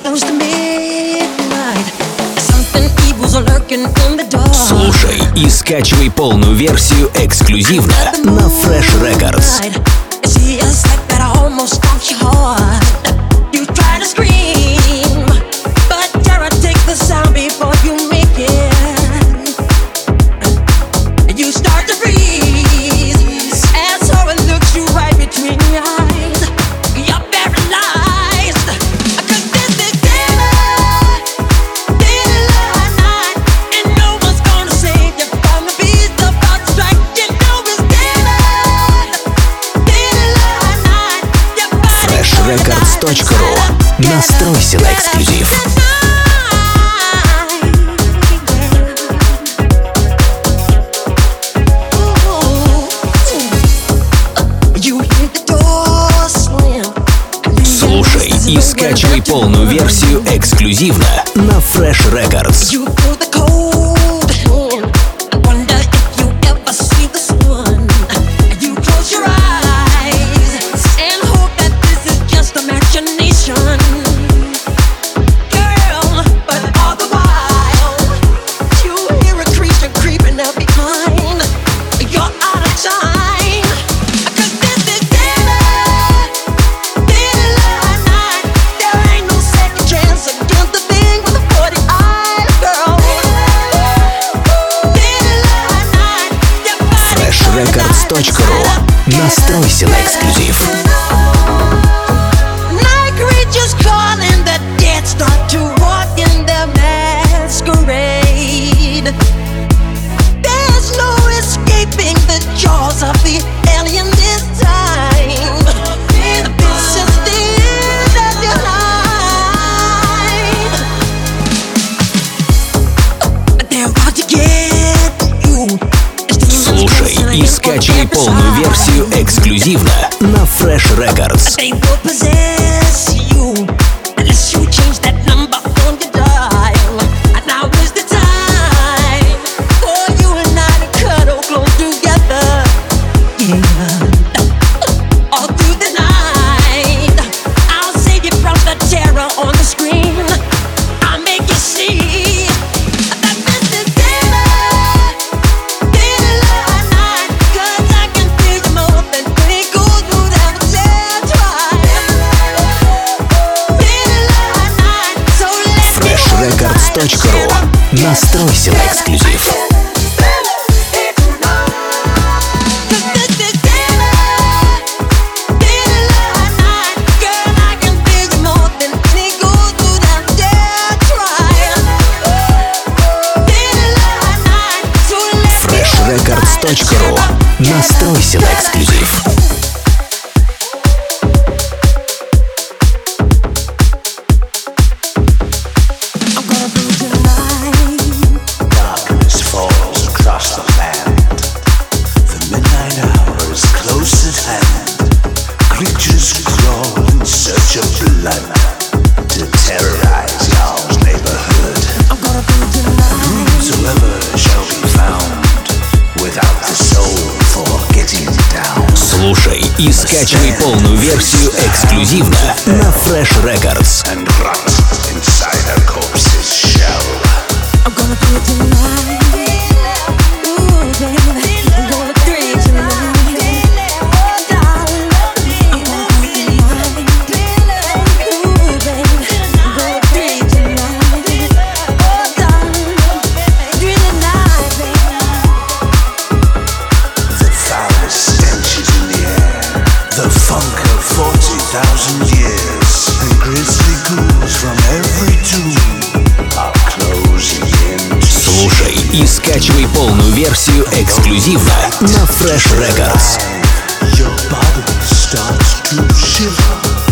Слушай и скачивай полную версию эксклюзивно на Fresh Records. Records.ru. Настройся на эксклюзив. Слушай и скачивай полную версию эксклюзивно на Fresh Records. Records.ru. Настройся на эксклюзив. И скачивай полную версию эксклюзивно на Fresh Records. Records.ru. Настройся на эксклюзив. Fresh Records.ru. Настройся на эксклюзив. Creatures crawl in search of blood to terrorize y'all's neighborhood. Whosoever shall be found without the soul for getting down. Слушай и скачивай полную версию эксклюзивно на Fresh Records. And rot inside a corpse's shell. I'm gonna do it tonight. Ooh, baby, I'm gonna do it tonight. The funk of 40,000 years, and grisly ghouls from every tomb are closing in. Слушай и скачивай полную версию эксклюзивно на Fresh Records. Your body starts to shiver.